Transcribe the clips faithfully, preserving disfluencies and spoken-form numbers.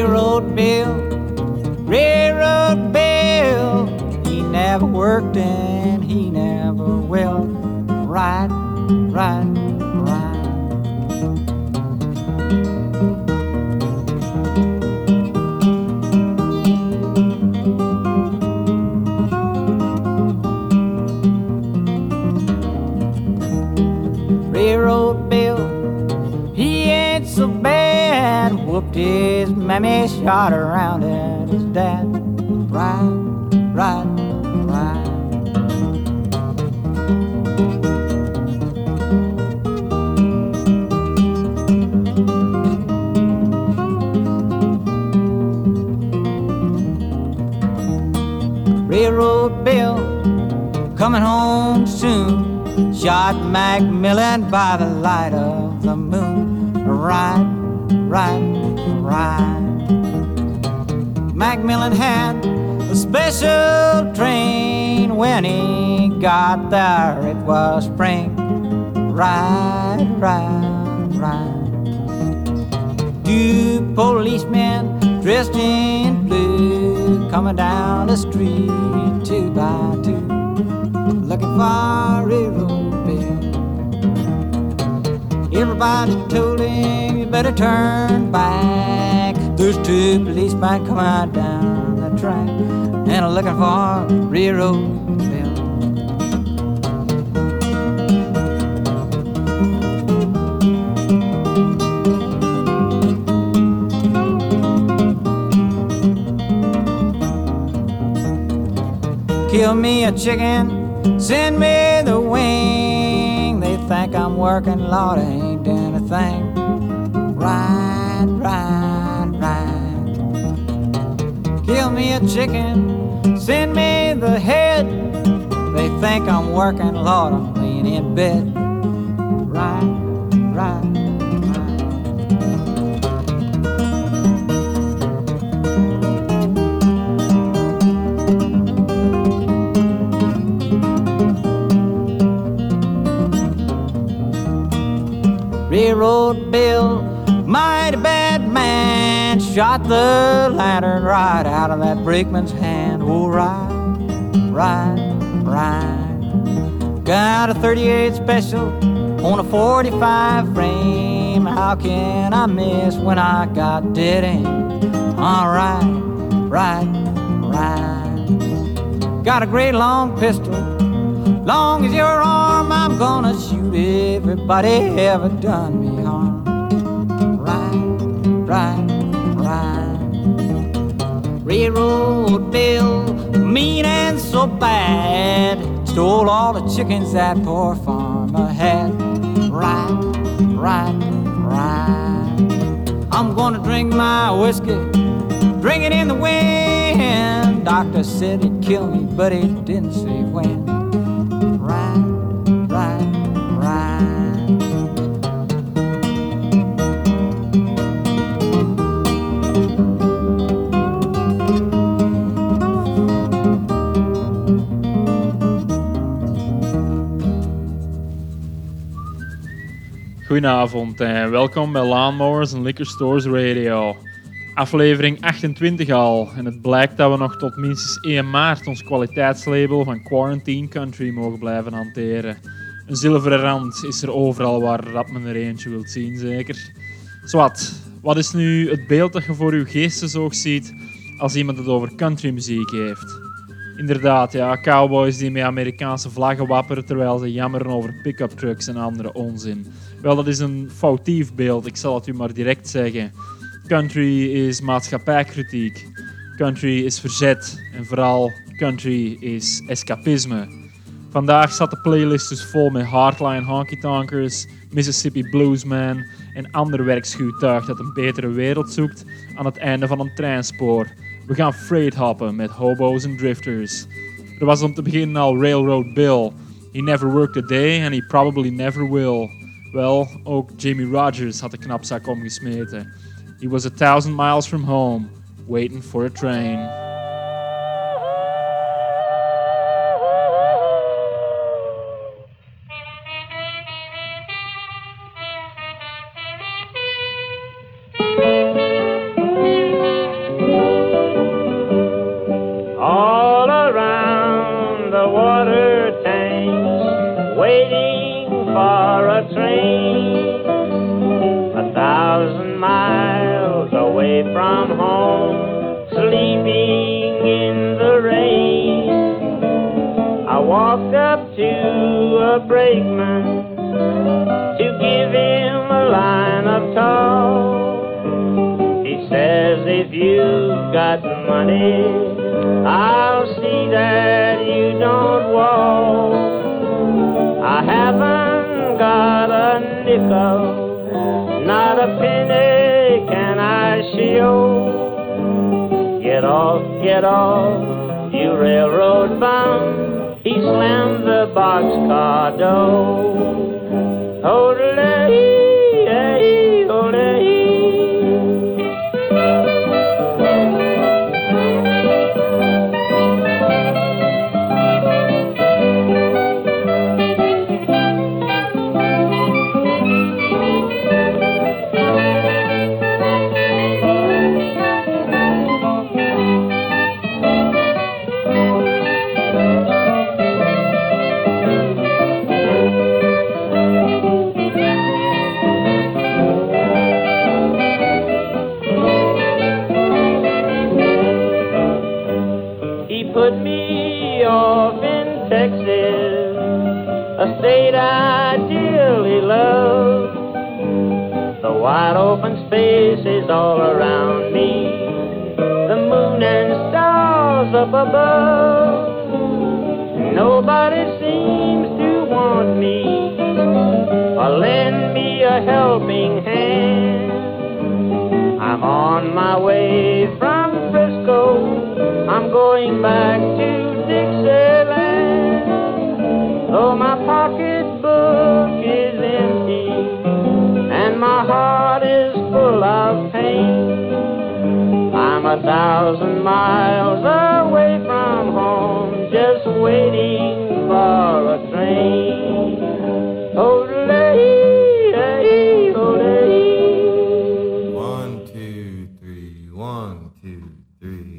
Railroad Bill, Railroad Bill, he never worked and he never will. Ride, ride, ride. Railroad Bill, he ain't so bad. Whooped his mammy, shot around at his dad. Ride, ride, ride. Railroad Bill, coming home soon. Shot Macmillan by the light of the moon. Ride, ride, ride. Macmillan had a special train. When he got there it was spring. Ride, ride, ride. Two policemen dressed in blue coming down the street two by two, looking for a railroad bill. Everybody told him, you better turn back. There's two policemen coming down the track and are looking for a railroad bill. Kill me a chicken, send me the wing. They think I'm working, Lord, I ain't doing a thing. Ride, ride, ride. Kill me a chicken, send me the head. They think I'm working, Lord, I'm laying in bed. Ride, ride. Railroad Bill, mighty bad man, shot the lantern right out of that brakeman's hand. Oh, ride, ride, ride. Got a thirty-eight special on a forty-five frame. How can I miss when I got dead aim? All right, ride, ride. Got a great long pistol, long as your arm, I'm gonna shoot everybody ever done me harm. Ride, ride, ride. Railroad Bill, mean and so bad, stole all the chickens that poor farmer had. Ride, ride, ride. I'm gonna drink my whiskey, drink it in the wind. Doctor said he'd kill me, but he didn't say when. Ride, ride, ride. Goedenavond en welkom bij Lawnmowers and Liquor Stores Radio. Aflevering achtentwintig al en het blijkt dat we nog tot minstens één maart ons kwaliteitslabel van Quarantine Country mogen blijven hanteren. Een zilveren rand is er overal waar dat men er eentje wilt zien, zeker. Zwat, wat is nu het beeld dat je voor uw geestesoog ziet als iemand het over countrymuziek heeft? Inderdaad, ja, cowboys die met Amerikaanse vlaggen wapperen terwijl ze jammeren over pick-up trucks en andere onzin. Wel, dat is een foutief beeld, ik zal het u maar direct zeggen. Country is maatschappijkritiek. Country is verzet. En vooral, country is escapisme. Vandaag zat de playlist dus vol met Hardline Honky Tonkers, Mississippi Bluesman en ander werkschuwtuig dat een betere wereld zoekt aan het einde van een treinspoor. We gaan freight hoppen met hobo's en drifters. Er was om te beginnen al Railroad Bill. He never worked a day and he probably never will. Wel, ook Jimmie Rogers had de knapzak omgesmeten. He was a thousand miles from home, waiting for a train. from home, sleeping in the rain. I walked up to a brakeman to give him a line of talk. He says, if you've got money, I'll see that you don't walk. I haven't got a nickel, not a penny can I show. Get off, get off, you railroad bum. He slammed the boxcar door. Hold-a-lee, hey, hold-a-lee. Put me off in Texas, a state I dearly love. The wide open spaces all around me, the moon and stars up above. Nobody seems to want me or lend me a helping hand. I'm on my way from Frisco, I'm going back to Dixieland. Though my pocketbook is empty and my heart is full of pain, I'm a thousand miles away from home, just waiting for a train. Hold-a-lee, hey, hold-a-lee. One, two, three, one, two, three.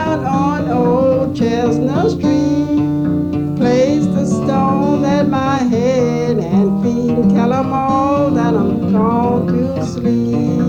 out on old Chestnut Street. Place the stone at my head and feet and tell 'em all that I'm gone to sleep.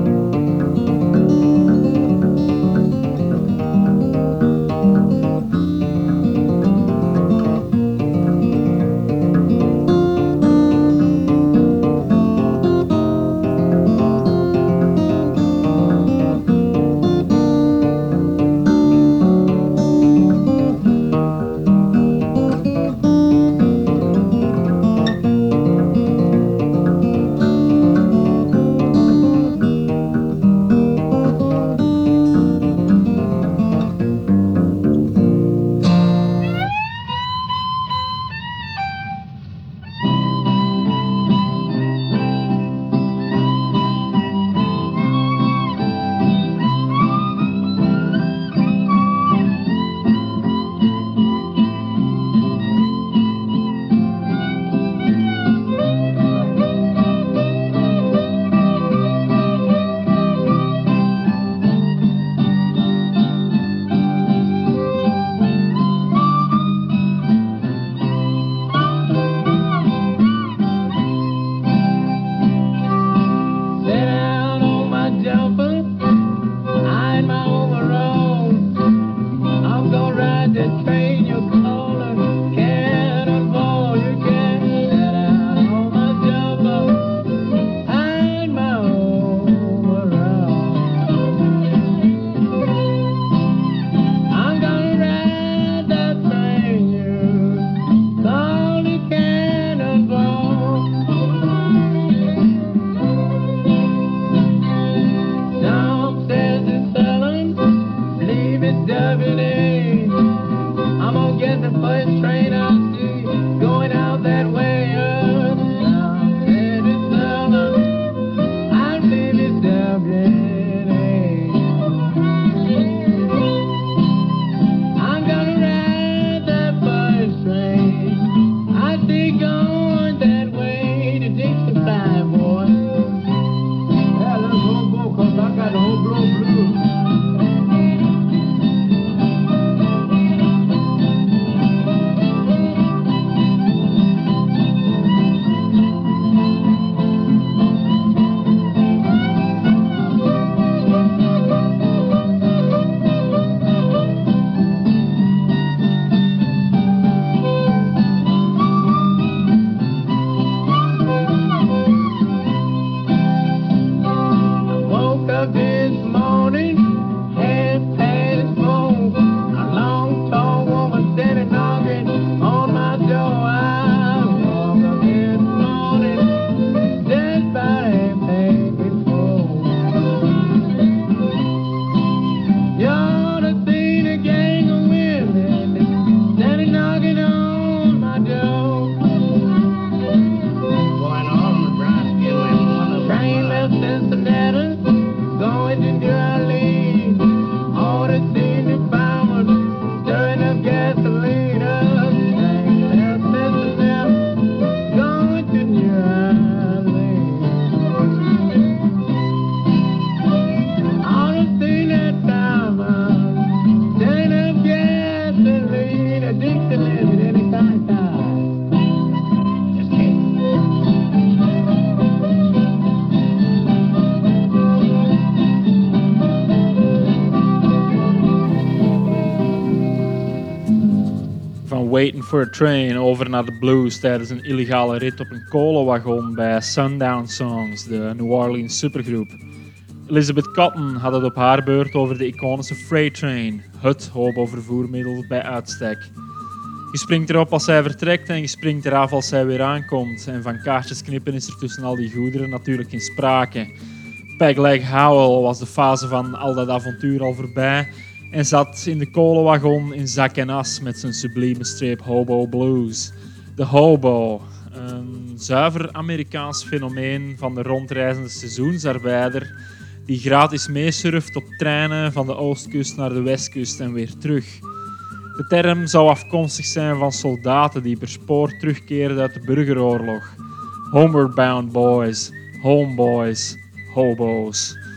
Waiting for a Train over naar de blues tijdens een illegale rit op een kolenwagon bij Sundown Songs, de New Orleans supergroep. Elizabeth Cotton had het op haar beurt over de iconische Freight Train, het hobo-vervoermiddel bij uitstek. Je springt erop als zij vertrekt en je springt eraf als zij weer aankomt. En van kaartjes knippen is er tussen al die goederen natuurlijk geen sprake. Pegleg Howell was de fase van al dat avontuur al voorbij en zat in de kolenwagon in zak en as met zijn sublieme streep Hobo Blues. De hobo, een zuiver Amerikaans fenomeen van de rondreizende seizoensarbeider die gratis meesurft op treinen van de oostkust naar de westkust en weer terug. De term zou afkomstig zijn van soldaten die per spoor terugkeerden uit de burgeroorlog. Homeward bound boys, homeboys, hobo's.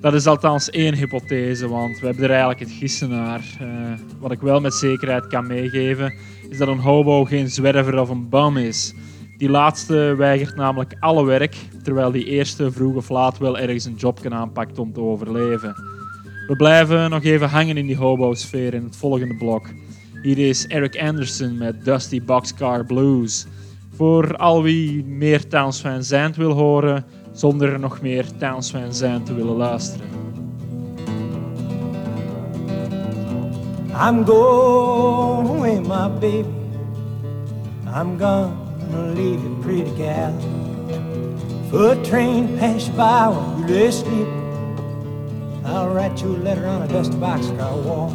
Dat is althans één hypothese, want we hebben er eigenlijk het gissen naar. Uh, wat ik wel met zekerheid kan meegeven, is dat een hobo geen zwerver of een bum is. Die laatste weigert namelijk alle werk, terwijl die eerste vroeg of laat wel ergens een job kan aanpakt om te overleven. We blijven nog even hangen in die hobo-sfeer in het volgende blok. Hier is Eric Anderson met Dusty Boxcar Blues. Voor al wie meer Townes Van Zandt wil horen, zonder nog meer Townes Van Zandt te willen luisteren. I'm going away, my baby. I'm gonna leave you, pretty gal. Foot train pass you by while you lay asleep. I'll write you a letter on a dusty boxcar wall.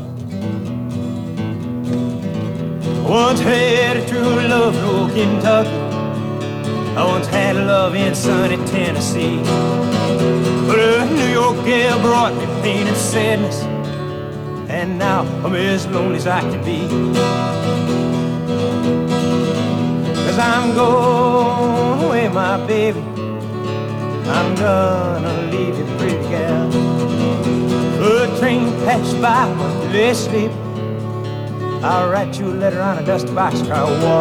Once had a true love in old Kentucky. I once had a love in sunny Tennessee. But a New York gal brought me pain and sadness, and now I'm as lonely as I can be. Cause I'm going away, my baby. I'm gonna leave you, pretty gal. A train pass by while you lay asleep. I'll write you a letter on a dusty boxcar wall.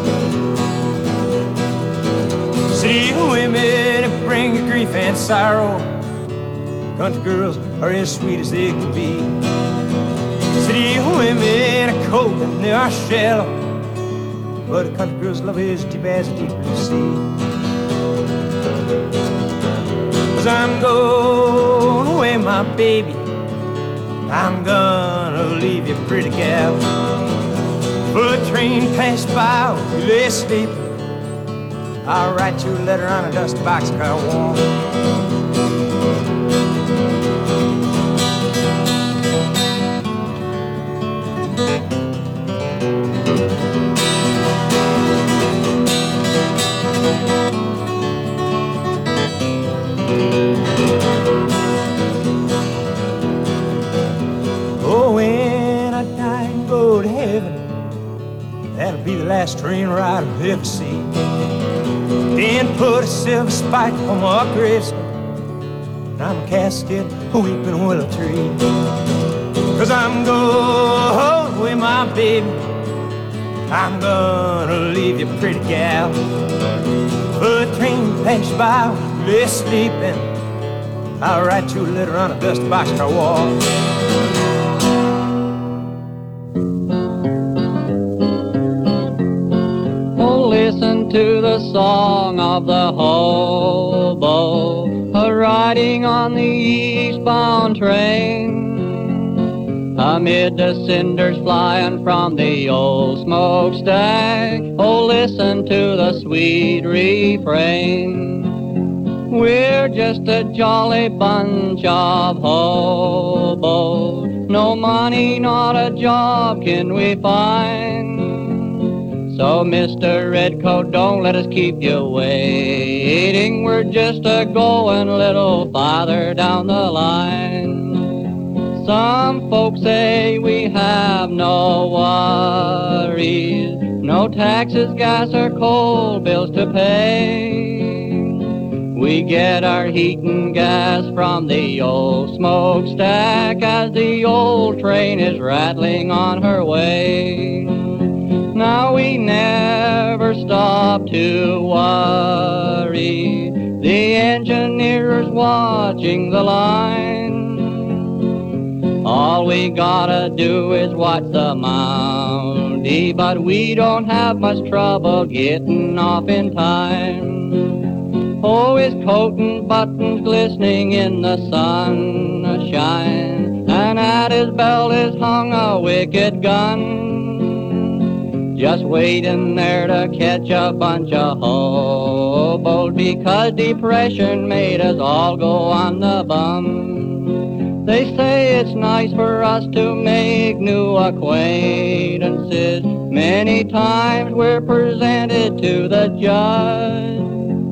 City women bring you grief and sorrow. Country girls are as sweet as they can be. City women are cold and they are shallow, but a country girl's love is deep as a deep blue sea. Cause I'm going away, my baby. I'm gonna leave you, pretty gal. For a train pass by while you lay asleep. I'll write you a letter on a dusty boxcar wall. Oh, when I die and go to heaven, that'll be the last train ride I'll ever see. Then put a silver spike on my gravestone, and I'm a casket a weeping willow tree. Cause I'm going away, my baby. I'm gonna leave you, pretty gal. But a train pass by while you're sleeping. I'll write you a letter on a dusty boxcar wall. Listen to the song of the hobo a-riding on the eastbound train. Amid the cinders flying from the old smokestack, oh, listen to the sweet refrain. We're just a jolly bunch of hobos. No money, not a job can we find. So, Mister Redcoat, don't let us keep you waiting. We're just a going a little farther down the line. Some folks say we have no worries, no taxes, gas, or coal bills to pay. We get our heat and gas from the old smokestack as the old train is rattling on her way. Now we never stop to worry, the engineer's watching the line. All we gotta do is watch the Mountie, but we don't have much trouble getting off in time. Oh, his coat and buttons glistening in the sunshine, and at his belt is hung a wicked gun. Just waiting there to catch a bunch of hobos, because depression made us all go on the bum. They say it's nice for us to make new acquaintances. Many times we're presented to the judge.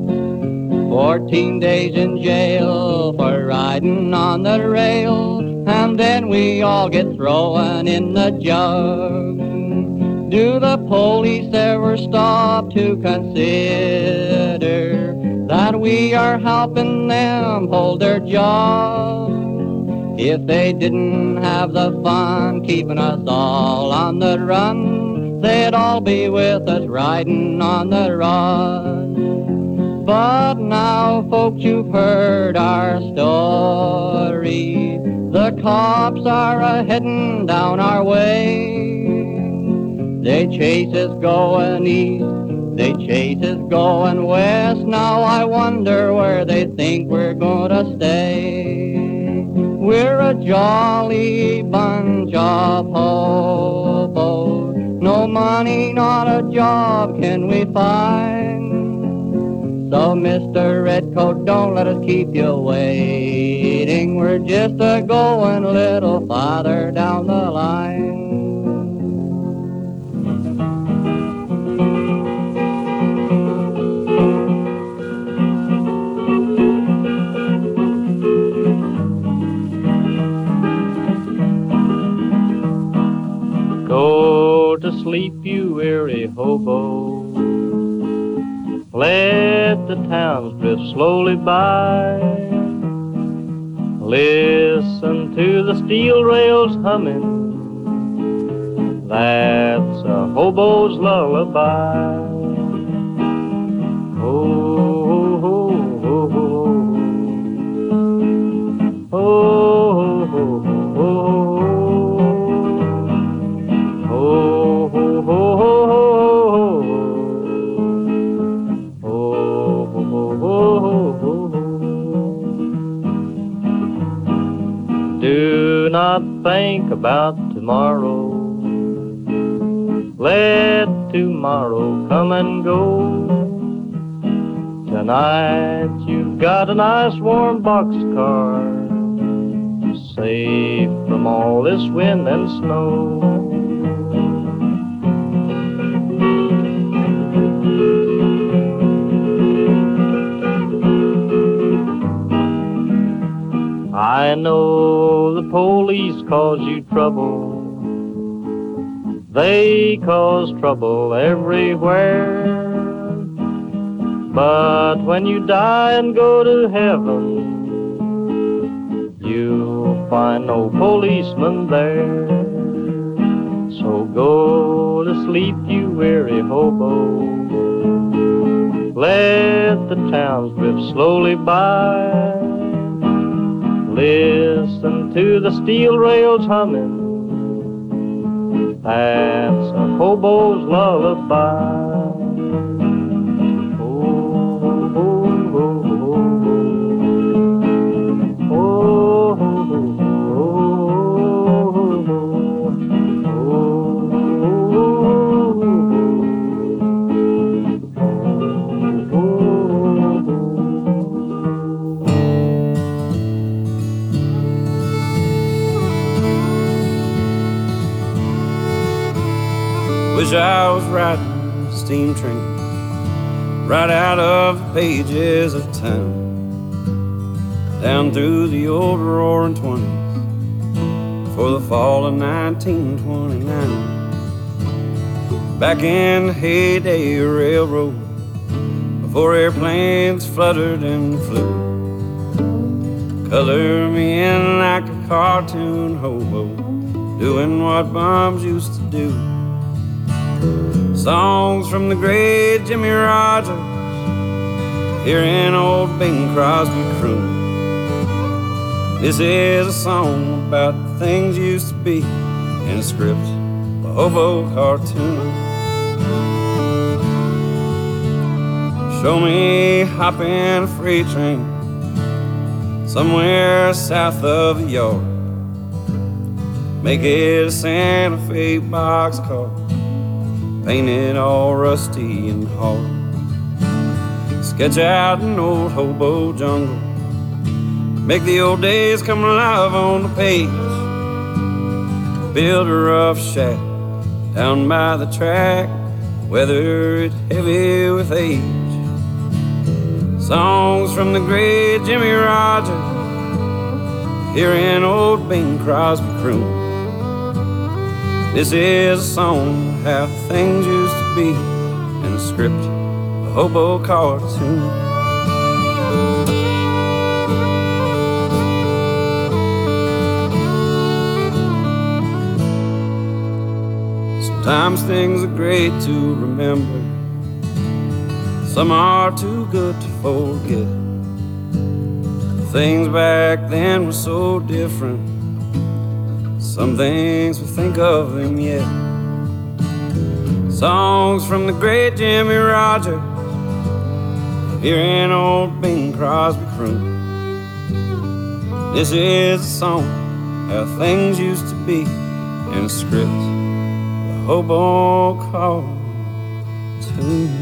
Fourteen days in jail for riding on the rail, and then we all get thrown in the jug. Do the police ever stop to consider that we are helping them hold their job. If they didn't have the fun keeping us all on the run, they'd all be with us riding on the rod. But now, folks, you've heard our story. The cops are a-heading down our way. They chase us going east, they chase us going west. Now I wonder where they think we're gonna stay. We're a jolly bunch of hobos. No money, not a job can we find. So Mister Redcoat, don't let us keep you waiting. We're just a going a little farther down the line. Go to sleep, you weary hobo. Let the towns drift slowly by. Listen to the steel rails humming. That's a hobo's lullaby. Oh, oh, oh, oh, oh, oh, do not think about tomorrow. Let tomorrow come and go. Tonight you've got a nice warm boxcar, safe from all this wind and snow. I know the police cause you trouble. They cause trouble everywhere. But when you die and go to heaven, you'll find no policeman there. So go to sleep, you weary hobo. Let the towns drift slowly by. Listen to the steel rails humming. That's a hobo's lullaby. Wish I was riding a steam train right out of the pages of time, down through the old roaring twenties for the fall of nineteen twenty-nine. Back in the heyday of railroad, before airplanes fluttered and flew. Color me in like a cartoon hobo, doing what bums used to do. Songs from the great Jimmy Rogers, hearing old Bing Crosby croon. This is a song about the things used to be in a script, a hobo cartoon. Show me hopping a freight train somewhere south of the yard. Make it a Santa Fe boxcar, painted all rusty and hard. Sketch out an old hobo jungle, make the old days come alive on the page. Build a rough shack down by the track, weather it heavy with age. Songs from the great Jimmy Rogers, hearing old Bing Crosby croon. This is a song of how things used to be in a script, a hobo cartoon. Sometimes things are great to remember, some are too good to forget. Things back then were so different, some things we think of them yet. Songs from the great Jimmy Rogers, hearing old Bing Crosby croon. This is a song, how things used to be, in a script, the hobo cartoon.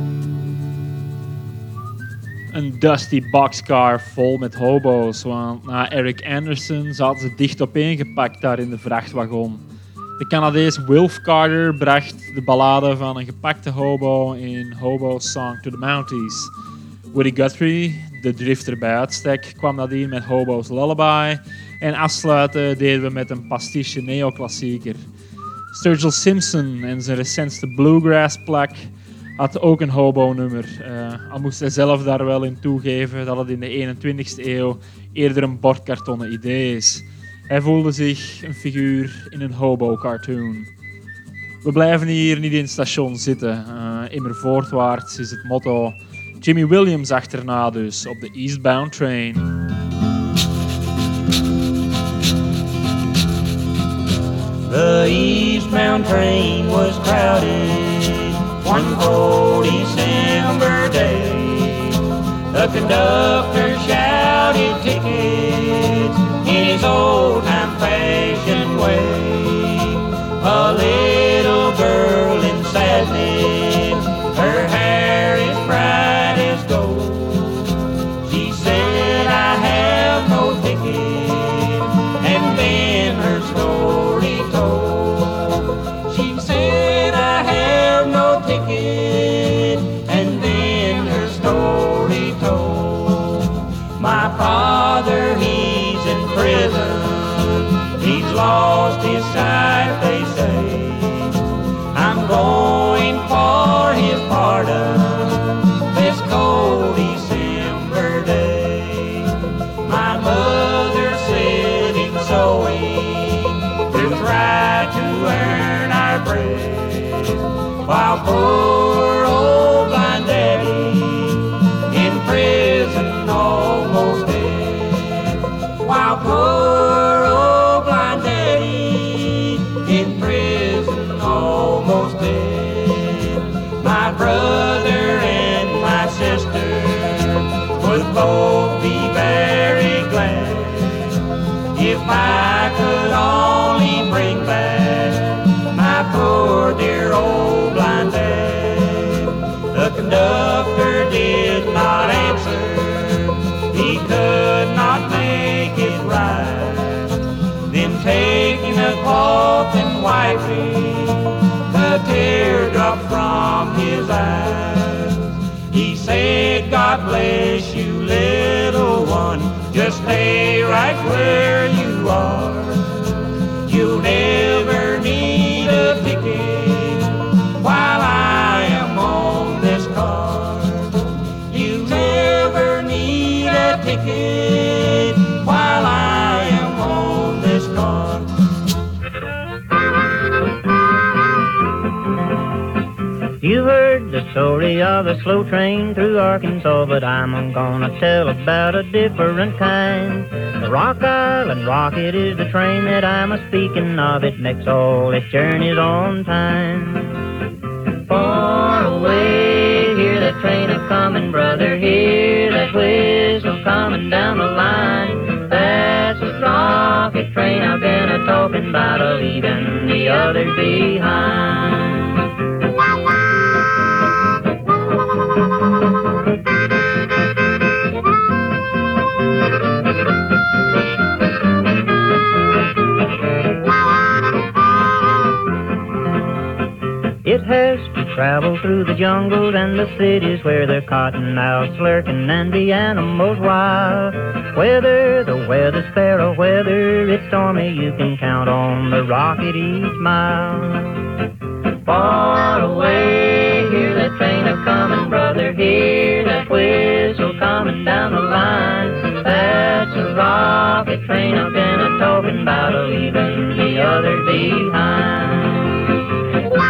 Een dusty boxcar vol met hobo's, want na Eric Anderson zaten ze dicht opeengepakt daar in de vrachtwagon. De Canadees Wilf Carter bracht de ballade van een gepakte hobo in Hobo's Song to the Mounties. Woody Guthrie, de drifter bij uitstek, kwam nadien met Hobo's Lullaby. En afsluiten deden we met een pastiche neoclassieker. Sturgill Simpson en zijn recentste bluegrass-plak had ook een hobo-nummer. Uh, al moest hij zelf daar wel in toegeven dat het in de eenentwintigste eeuw eerder een bordkartonnen idee is. Hij voelde zich een figuur in een hobo-cartoon. We blijven hier niet in het station zitten. Uh, immer voortwaarts is het motto. Jimmy Williams achterna dus, op de Eastbound Train. The eastbound train was crowded one cold December day. The conductor shouted tickets in his old-time fashioned way. A little girl in sadness, her hair is bright as gold. She said, I have no ticket, and then her story told. She said, I have no ticket, and then her story told. My father, he's in prison, he's lost his sight, they say. I'm going for his pardon this cold December day. My mother said in sewing to try to earn our bread, while poor old blind daddy in prison almost dead. While poor old blind daddy in prison almost dead. My brother and my sister would both be very glad if I could only bring back my poor dear old blind dad. The conductor did not answer, he could not make it right. Then taking a cloth and wiping the teardrop from his eyes, he said, God bless you, little one, just stay right where you are. You'll never need a ticket while I am on this car. You never need a ticket while I am on this car. You heard the story of a slow train through Arkansas, but I'm gonna tell about a different kind. The Rock Island Rocket is the train that I'm a speaking of. It makes all its journeys on time. Far away, hear that train a coming, brother, hear that whistle coming down the line. That's a rocket train I've been a talking about, a leaving the others behind. It has to travel through the jungles and the cities where the cottonmouths lurking and the animals wild. Whether the weather's fair or whether it's stormy, you can count on the rocket each mile. Far away, hear that train a coming, brother, hear that whistle coming down the line. That's a rocket train I've been a talking about, a leaving the others behind.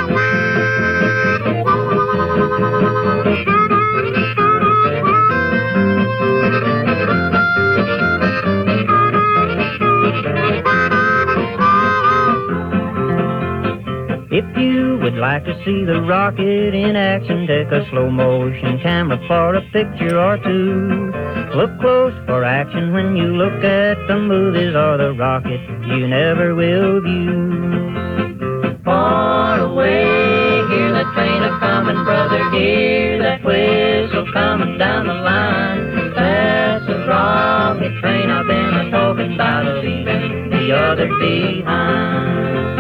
If you would like to see the rocket in action, take a slow motion camera for a picture or two. Look close for action when you look at the movies or the rocket you never will view. Far away, hear that train a-comin', brother, hear that whistle coming down the line. That's a rocket train I've been a-talking about, leaving the others behind.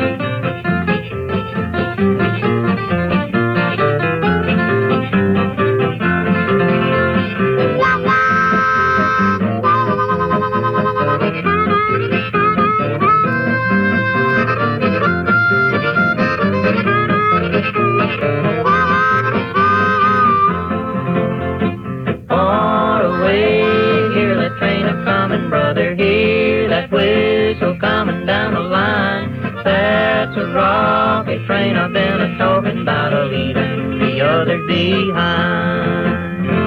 Coming down the line, that's a rocket train I've been a talking about, a leaving the others behind.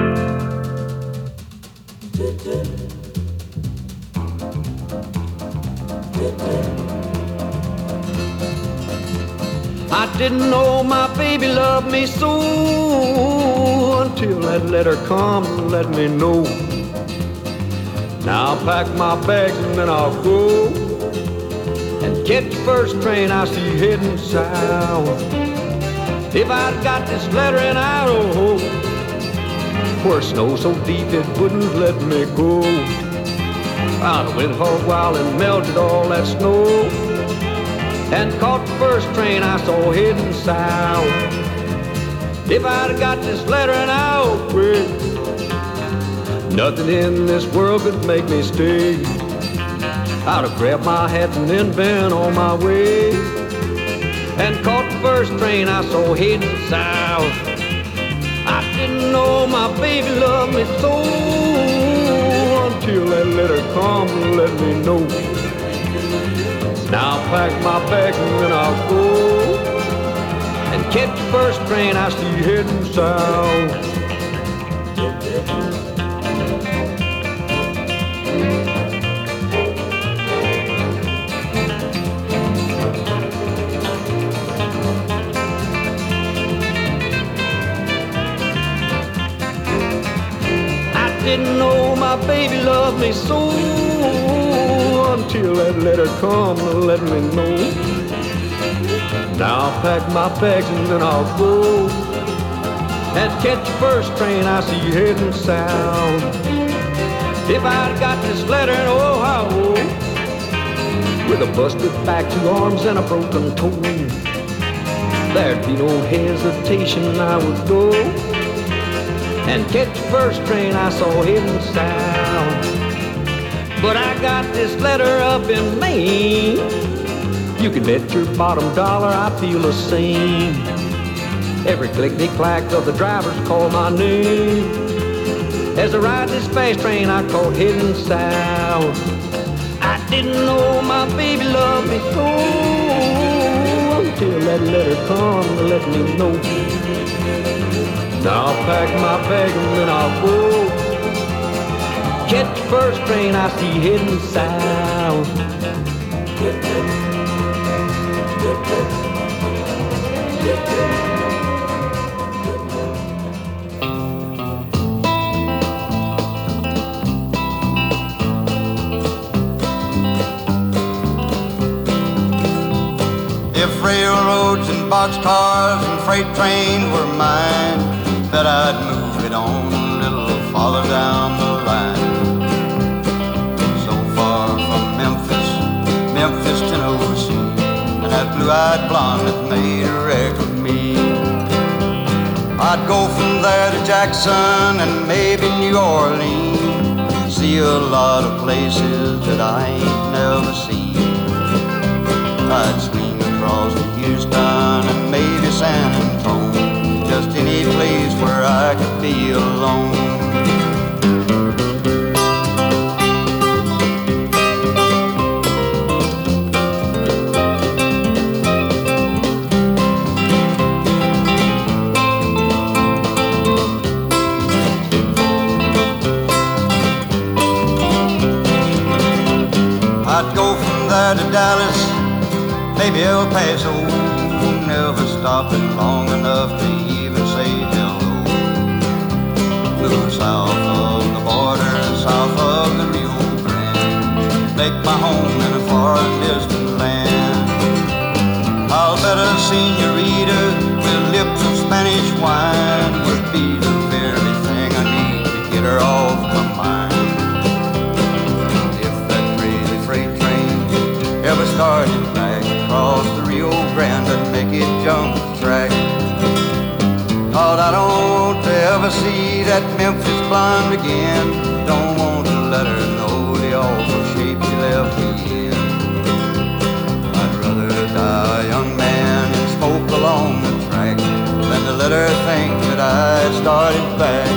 I didn't know my baby loved me so until that letter come to let me know. Now I'll pack my bags and then I'll go and catch the first train I see heading south. If I'd got this letter in Idaho, where snow so deep it wouldn't let me go, I'd have went hog wild and melted all that snow and caught the first train I saw heading south. If I'd have got this letter in Idaho, nothing in this world could make me stay. I'd have grabbed my hat and then been on my way and caught the first train I saw heading south. I didn't know my baby loved me so until that letter come to let me know. Now I'll pack my bags and then I'll go and catch the first train I see heading south. Didn't know my baby loved me so until that letter come to let me know. Now I'll pack my bags and then I'll go and catch the first train I see heading south. If I'd got this letter in Ohio with a busted back, two arms and a broken toe, there'd be no hesitation, I would go and catch the first train I saw heading south. But I got this letter up in Maine. You can bet your bottom dollar I feel the same. Every clickety-clack of the drivers call my name as I ride this fast train I caught heading south. I didn't know my baby loved me so until that letter come to let me know. Now I'll pack my bag and then I'll go catch the first train I see heading south. If railroads and boxcars and freight trains were mine, bet I'd move it on a little farther down the line. So far from Memphis, Memphis, Tennessee, and that blue-eyed blonde that made a wreck of me. I'd go from there to Jackson and maybe New Orleans, see a lot of places that I ain't never seen. I'd swing across to Houston and maybe San Antonio, just any place where I could be alone. I'd go from there to Dallas, maybe El Paso twice old, never stopping long enough to even say hello. Moving south of the border, south of the Rio Grande, make my home in a far and distant land. I'll bet a senorita with lips of Spanish wine would be the very thing I need to get her off my mind. If that crazy freight train ever started back across the Rio Grande, I'd make it jump the track. Lord, I don't want to ever see that Memphis blonde again. Don't want to let her know the awful shape she left me in. I'd rather die a young man and smoke along the track than to let her think that I started back.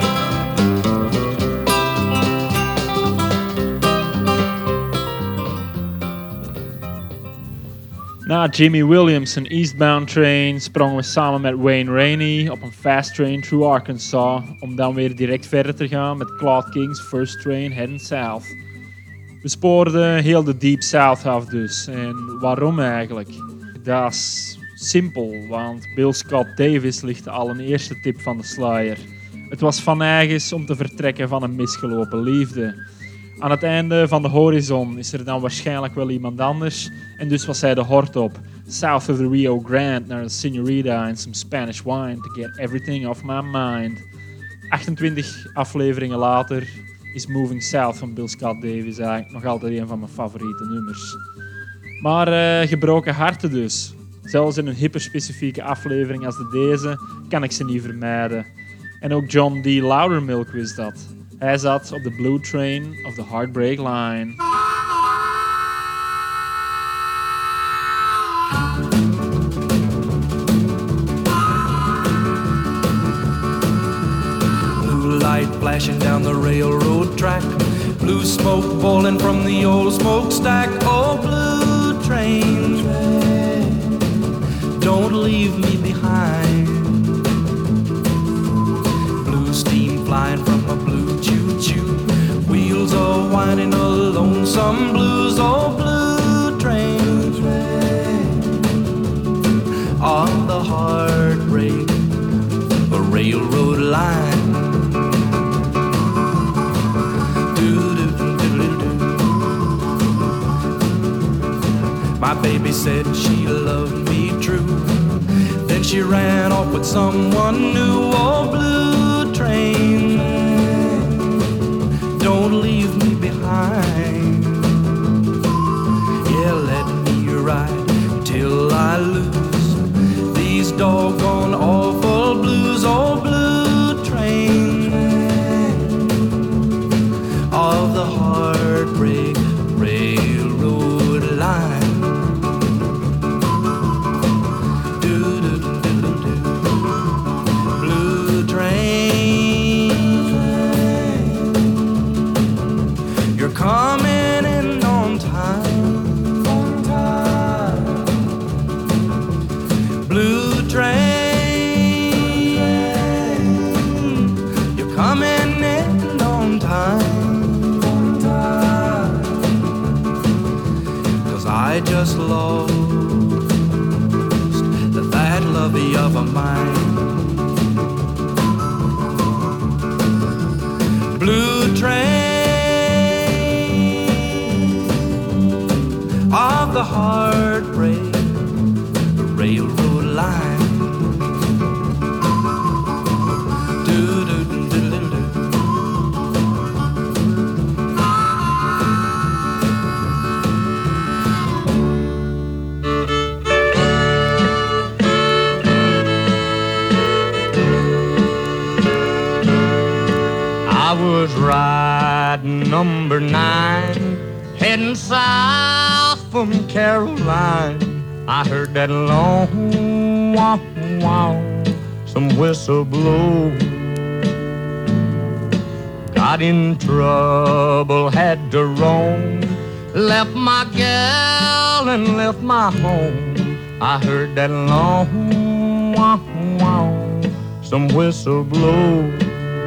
Na Jimmy Williams' een Eastbound Train sprongen we samen met Wayne Rainey op een Fast Train through Arkansas, om dan weer direct verder te gaan met Claude King's First Train Heading South. We spoorden heel de Deep South af dus. En waarom eigenlijk? Dat is simpel, want Bill Scott Davis ligt al een eerste tip van de sluier. Het was van eigens om te vertrekken van een misgelopen liefde. Aan het einde van de horizon is er dan waarschijnlijk wel iemand anders en dus was hij de hort op. South of the Rio Grande naar een señorita en some Spanish wine to get everything off my mind. achtentwintig afleveringen later is Moving South van Bill Scott Davis eigenlijk nog altijd een van mijn favoriete nummers. Maar uh, gebroken harten dus. Zelfs in een hyperspecifieke aflevering als de deze kan ik ze niet vermijden. En ook John D. Loudermilk wist dat. Hij zat op de Blue Train of the Heartbreak Line. Blue light flashing down the railroad track, blue smoke boiling from the old smokestack. Oh, blue train, don't leave me behind. Blue steam flying from a blue choo-choo, wheels all whining a lonesome blues. Oh, blue train, on the heartbreak, a railroad line. My baby said she loved me true, then she ran off with someone new. Oh, blue train, don't leave me behind. Yeah, let me ride till I lose these doggone awful blues. Oh, blue train of the heartbreak railroad line. Coming in on time, on time. Blue train, you're coming in on time, on time. 'Cause I just lost that lovey of a mine. Blue train of the heartbreak, the railroad line. Do do do do do do. I was riding number nine, heading south from Caroline. I heard that long wow wow, some whistle blow. Got in trouble, had to roam, left my gal and left my home. I heard that long wow wow, some whistle blow.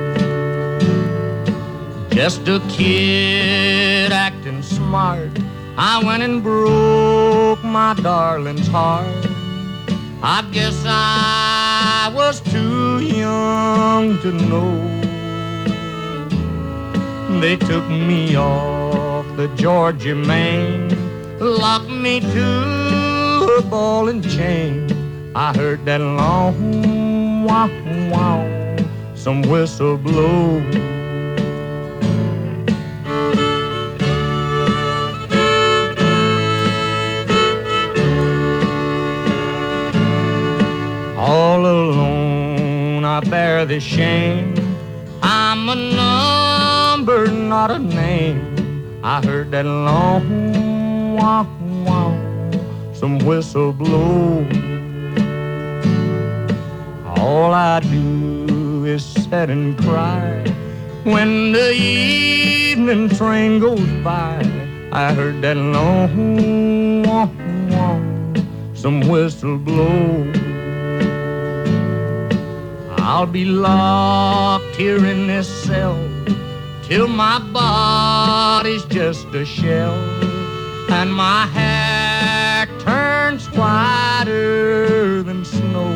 Just a kid acting smart, I went and broke my darling's heart. I guess I was too young to know. They took me off the Georgia main, locked me to a ball and chain. I heard that long wow wow, some whistle blow. All alone I bear the shame. I'm a number, not a name. I heard that long wow wow, some whistle blow. All I do is sit and cry when the evening train goes by. I heard that long wow wow, some whistle blow. I'll be locked here in this cell till my body's just a shell and my hair turns whiter than snow.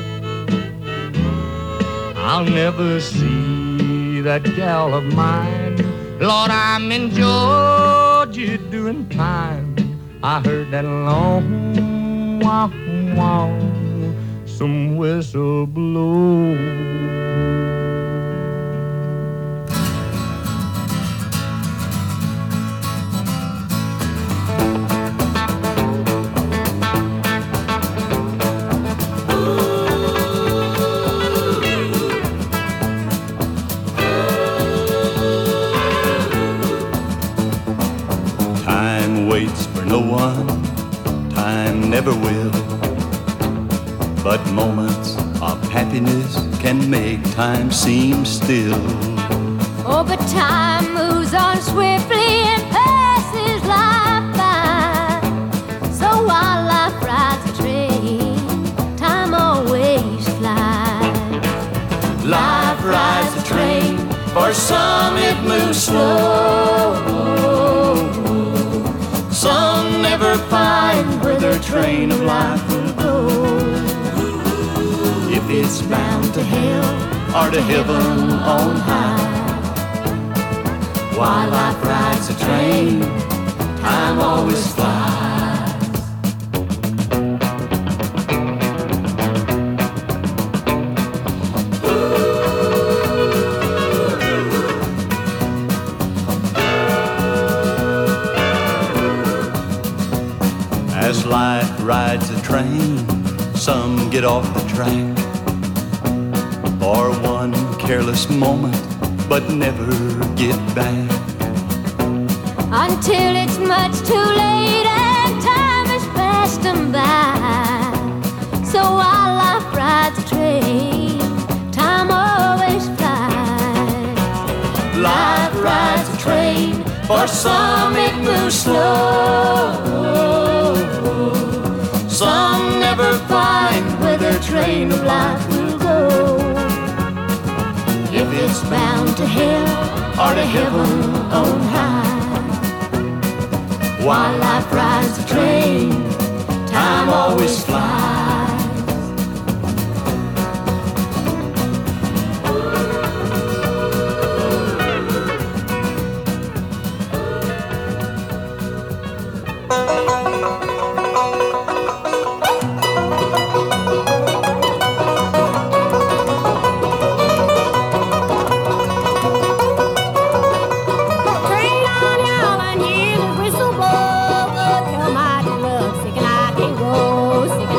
I'll never see that gal of mine. Lord, I'm in Georgia doing time. I heard that long wow wow, some whistle blow. Time waits for no one, time never will. But moments of happiness can make time seem still. Oh, but time moves on swiftly and passes life by. So while life rides a train, time always flies. Life rides a train, for some it moves slow. Some never find where their train of life will go. If it's bound to hell or to heaven on high, while life rides a train, time always flies. As life rides a train, some get off the track for one careless moment, but never get back. Until it's much too late and time has passed them by. So while life rides a train, time always flies. Life rides a train, for some it moves slow. Some never find where their train of life will go. If it's bound to hell or to heaven on high, while life rides a train, time always flies. Sick and I can go, sick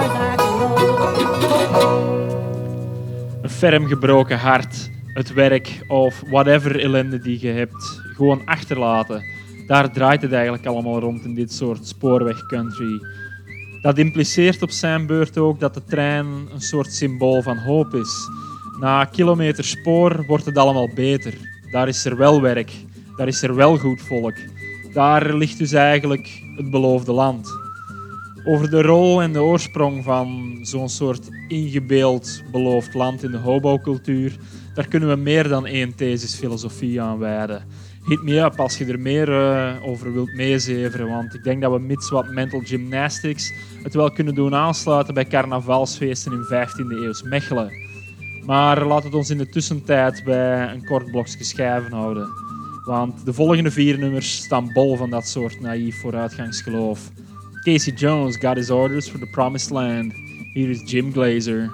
as I can go. Een ferm gebroken hart, het werk of whatever ellende die je hebt, gewoon achterlaten. Daar draait het eigenlijk allemaal rond in dit soort spoorweg country. Dat impliceert op zijn beurt ook dat de trein een soort symbool van hoop is. Na kilometers spoor wordt het allemaal beter. Daar is er wel werk, daar is er wel goed volk. Daar ligt dus eigenlijk het beloofde land. Over de rol en de oorsprong van zo'n soort ingebeeld beloofd land in de hobo-cultuur, daar kunnen we meer dan één thesis filosofie aan wijden. Hit me up als je er meer uh, over wilt meezeveren, want ik denk dat we mits wat mental gymnastics het wel kunnen doen aansluiten bij carnavalsfeesten in vijftiende eeuws Mechelen. Maar laat het ons in de tussentijd bij een kort blokje schijven houden. Want de volgende vier nummers staan bol van dat soort naïef vooruitgangsgeloof. Casey Jones got his orders for the promised land. Here is Jim Glazer.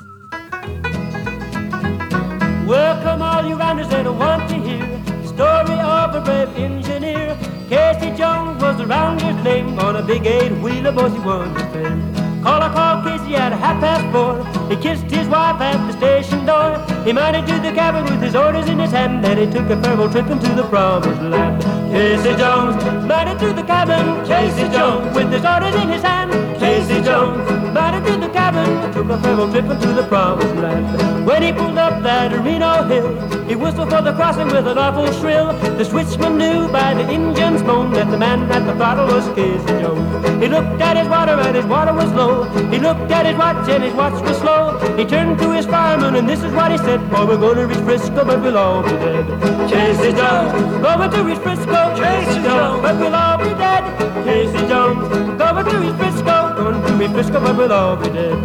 Welcome all you rounders that want to hear the story of a brave engineer. Casey Jones was the rounder's name. On a big eight-wheeler, boys, he was his friend. Call I called Casey at half past four. He kissed his wife at the station door. He mounted to the cabin with his orders in his hand. Then he took a farewell trip into the promised land. Casey Jones mounted to the cabin. Casey Jones with his orders in his hand. Casey Jones mounted to the cabin. Took a farewell trip into the promised land. When he pulled up that Reno hill, he whistled for the crossing with an awful shrill. The switchman knew by the engine's moan that the man at the throttle was Casey Jones. He looked at his water and his water was low. He looked at his watch and his watch was slow. He turned to his fireman and this is what he said: boy, we're going to reach Frisco, but we'll all be dead. Casey Jones, going to reach Frisco. Casey Jones, but we'll all be dead. Casey Jones, going to reach Frisco. Going to reach Frisco, but we'll all be dead.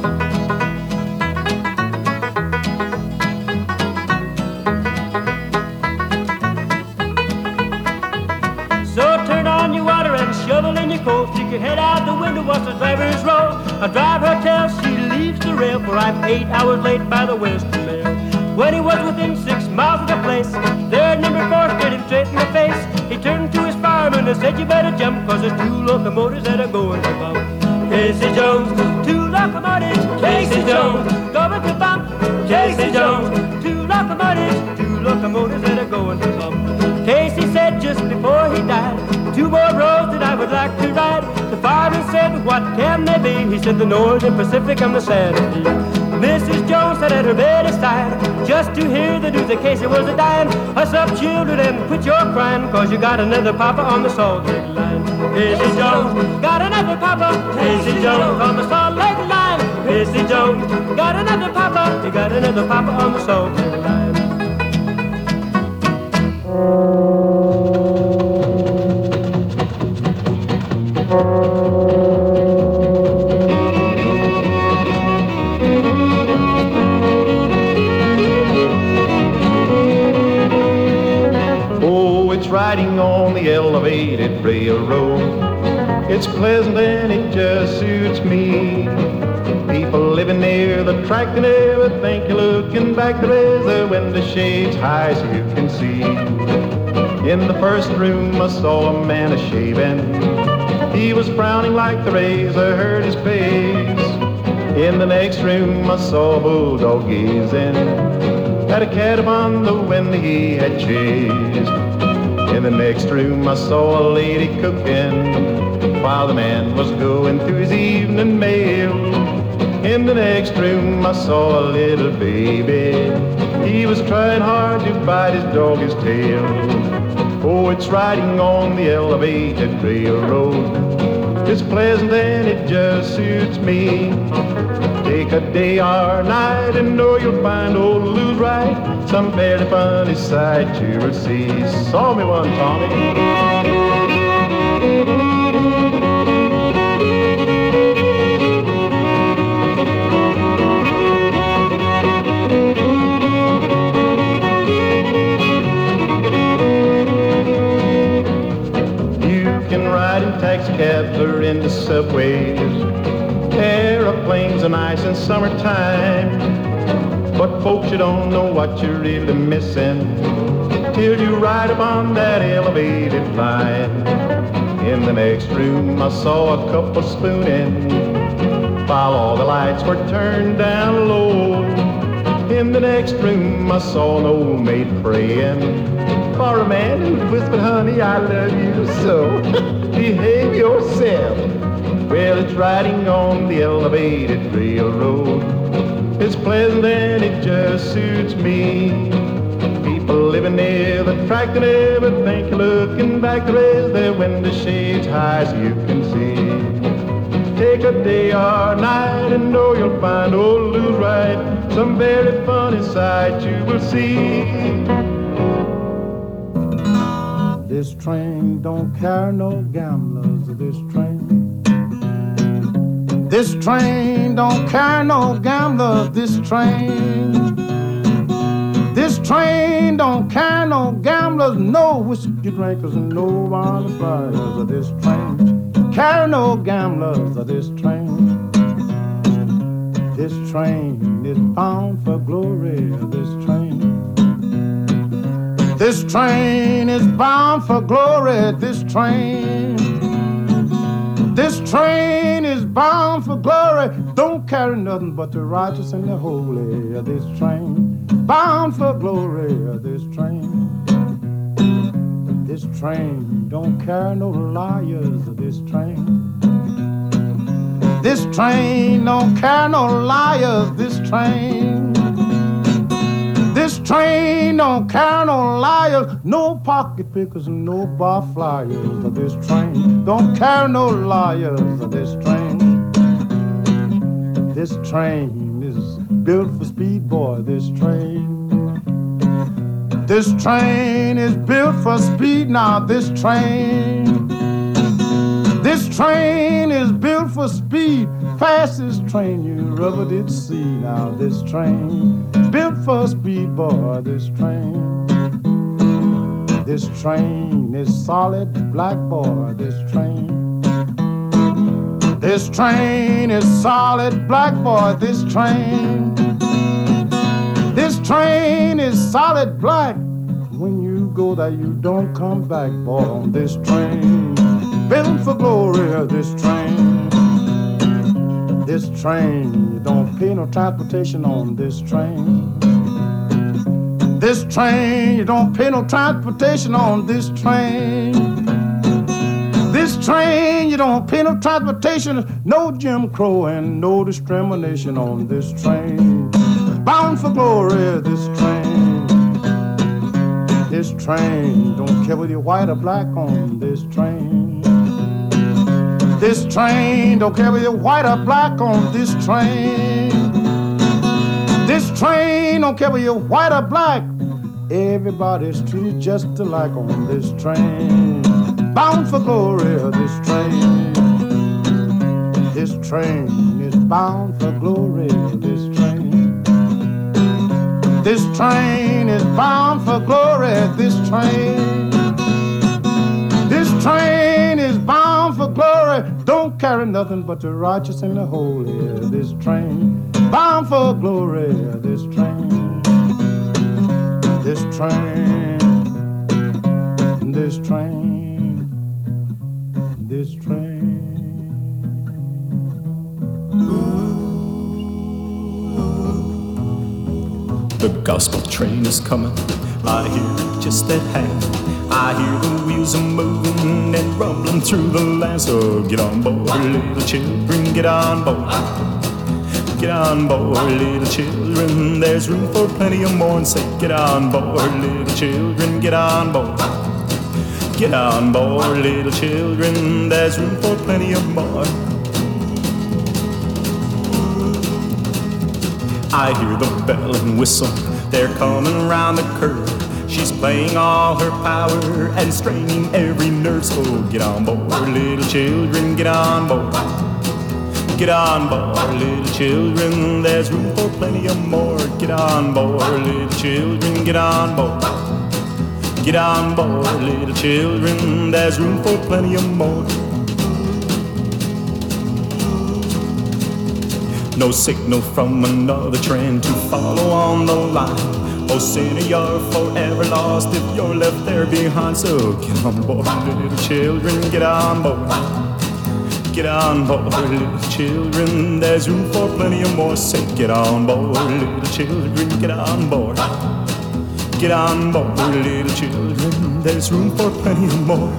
Shovel in your coat, stick your head out the window, watch the driver's roll. A driver tells she leaves the rail, for I'm eight hours late by the Western Mail. When he was within six miles of the place, there number four stared him straight in the face. He turned to his fireman and said, you better jump, cause there's two locomotives that are going to bump. Casey Jones, two locomotives. Casey Jones, going to bump. Casey Jones, two locomotives. Two locomotives that are going to bump. Casey said just before he died, two more roads that I would like to ride. The fireman said, what can they be? He said, the Northern Pacific and the Santa Fe. Missus Jones sat at her bedside just to hear the news that Casey was a dying. Hush up, children, and quit your crying, cause you got another papa on the Salt Lake line. Casey Jones got another papa. Casey Jones on the Salt Lake line. Casey Jones got another papa. He got another papa on the Salt Lake line. Oh, it's riding on the elevated railroad. It's pleasant and it just suits me. People living near the track, they never think you're looking back. There is a window shades high so you can see. In the first room I saw a man a-shaving. He was frowning like the razor hurt his face. In the next room I saw a bulldog gazing at a cat upon the window he had chased. In the next room I saw a lady cooking while the man was going through his evening mail. In the next room I saw a little baby. He was trying hard to bite his dog's tail. Oh, it's riding on the elevated railroad. It's pleasant and it just suits me. Take a day or night and know you'll find old Lou's right. Some very funny sight you will see. Saw me one, Tommy. Taxicabs are in the subways, aeroplanes are nice in summertime. But folks, you don't know what you're really missing till you ride upon that elevated line. In the next room I saw a couple spooning while all the lights were turned down low. In the next room I saw an old maid praying for a man who whispered, honey, I love you so. Behave yourself. Well, it's riding on the elevated railroad. It's pleasant and it just suits me. People living near the track and everything, looking back to raise their window shades high so you can see. Take a day or night and know you'll find old Lou's right. Some very funny sight you will see. This train don't carry no gamblers, this train. This train don't carry no gamblers, this train. This train don't carry no gamblers, no whiskey drinkers, and no bonfires of this train. Carry no gamblers of this train. This train is bound for glory, this train. This train is bound for glory, this train. This train is bound for glory. Don't carry nothing but the righteous and the holy of this train. Bound for glory of this train. This train don't carry no liars of this train. This train don't carry no liars, this train. This train don't carry no liars, no pocket pickers and no bar flyers of this train. Don't carry no liars of this train. This train is built for speed, boy, this train. This train is built for speed now, this train. This train is built for speed, fastest train you ever did see. Now this train, built for speed, boy, this train. This train is solid black, boy, this train. This train is solid black, boy, this train. This train is solid black. When you go there, you don't come back, boy, on this train. Built for glory, this train. This train, you don't pay no transportation on this train. This train, you don't pay no transportation on this train. This train, you don't pay no transportation, no Jim Crow and no discrimination on this train. Bound for glory, this train. This train, don't care whether you're white or black on this train. This train, don't care whether you're white or black on this train. This train, don't care whether you're white or black. Everybody's treated just alike on this train. Bound for glory, this train. This train is bound for glory, this train. This train is bound for glory, this train. This train is bound for glory. Don't carry nothing but the righteous and the holy. This train, bound for glory. This train, this train, this train, this train. The gospel train is coming. I hear it just at hand. I hear the wheels are moving and rumbling through the land. So get on board, little children, get on board. Get on board, little children. There's room for plenty of more. And say, get on board, little children, get on board. Get on board, little children. There's room for plenty of more. I hear the bell and whistle. They're coming around the curve. She's playing all her power and straining every nerve. So get on board, little children, get on board. Get on board, little children. There's room for plenty of more. Get on board, little children, get on board. Get on board, little children. There's room for plenty of more. No signal from another train to follow on the line. Oh, sinner, you're forever lost if you're left there behind. So get on board, little children, get on board. Get on board, little children, there's room for plenty of more. Say, get on board, little children, get on board. Get on board, little children, there's room for plenty of more.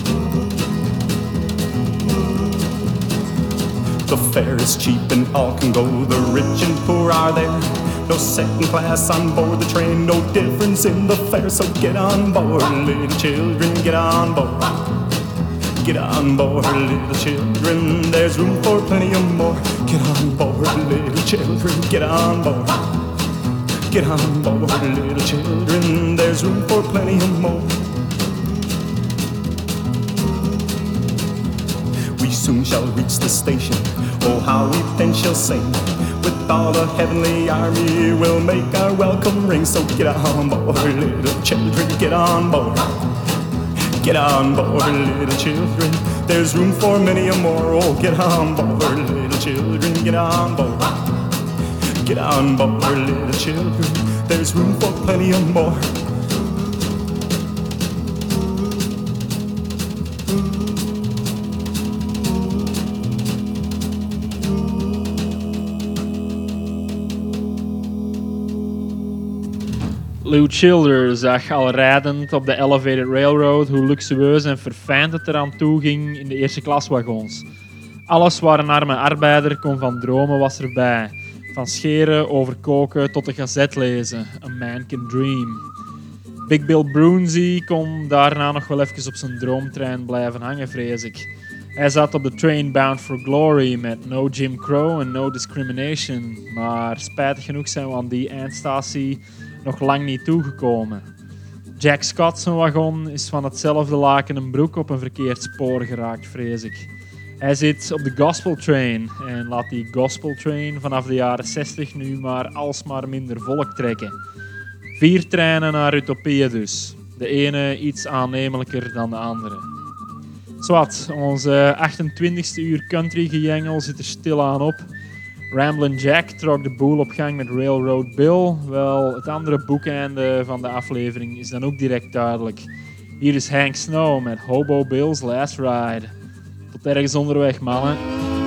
The fare is cheap and all can go, the rich and poor are there. No second class on board the train, no difference in the fare. So get on board, little children, get on board. Get on board, little children, there's room for plenty of more. Get on board, little children, get on board. Get on board, little children, there's room for plenty of more. We soon shall reach the station, oh how we then shall sing. With all the heavenly army we'll make our welcome ring. So get on board, little children, get on board. Get on board, little children, there's room for many a more. Oh, get on board, little children, get on board. Get on board, little children, there's room for plenty of more. Lew Childers zag al rijdend op de Elevated Railroad hoe luxueus en verfijnd het eraan toe ging in de eerste klaswagons. Alles waar een arme arbeider kon van dromen was erbij. Van scheren over koken tot de gazet lezen. A man can dream. Big Bill Broonzy kon daarna nog wel even op zijn droomtrein blijven hangen, vrees ik. Hij zat op de train bound for glory met no Jim Crow en no discrimination. Maar spijtig genoeg zijn we aan die eindstatie nog lang niet toegekomen. Jack Scott's wagon is van hetzelfde laken een broek op een verkeerd spoor geraakt, vrees ik. Hij zit op de Gospel Train en laat die Gospel Train vanaf de jaren zestig nu maar alsmaar minder volk trekken. Vier treinen naar utopieën dus. De ene iets aannemelijker dan de andere. Zwat, onze achtentwintigste uur country gejengel zit er stilaan op. Ramblin' Jack trok de boel op gang met Railroad Bill. Wel, het andere boekeinde van de aflevering is dan ook direct duidelijk. Hier is Hank Snow met Hobo Bill's Last Ride. Tot ergens onderweg, mannen.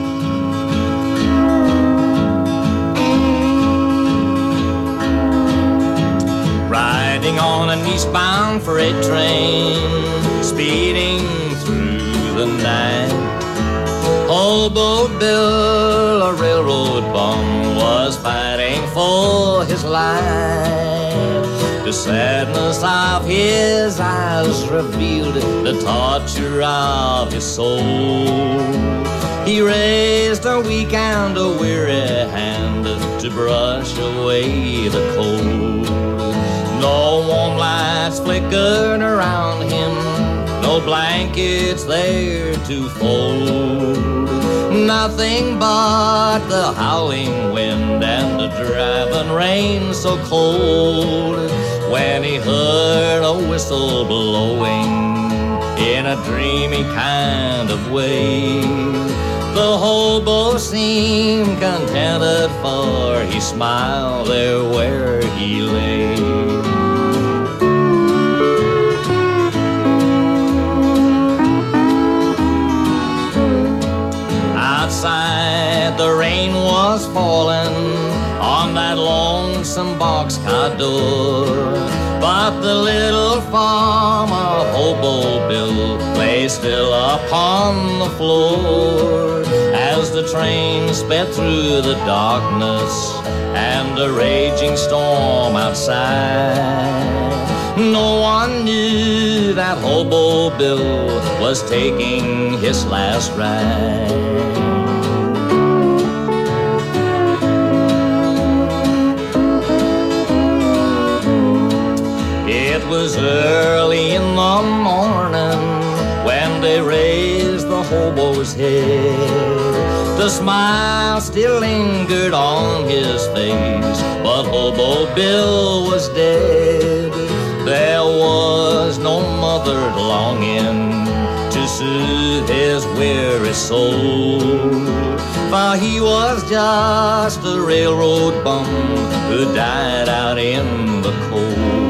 Riding on an eastbound freight train, speeding through the night. Hobo Bill, a railroad bum, was fighting for his life. The sadness of his eyes revealed the torture of his soul. He raised a weak and a weary hand to brush away the cold. No warm lights flickered around him, no blankets there to fold. Nothing but the howling wind and the driving rain so cold. When he heard a whistle blowing in a dreamy kind of way, the hobo seemed contented, for he smiled there where he lay. Outside, the rain was falling on that lonesome boxcar door, but the little form of Hobo Bill lay still upon the floor as the train sped through the darkness and the raging storm outside. No one knew that Hobo Bill was taking his last ride. It was early in the morning when they raised the hobo's head. The smile still lingered on his face, but Hobo Bill was dead. There was no mother longing to soothe his weary soul, for he was just a railroad bum who died out in the cold.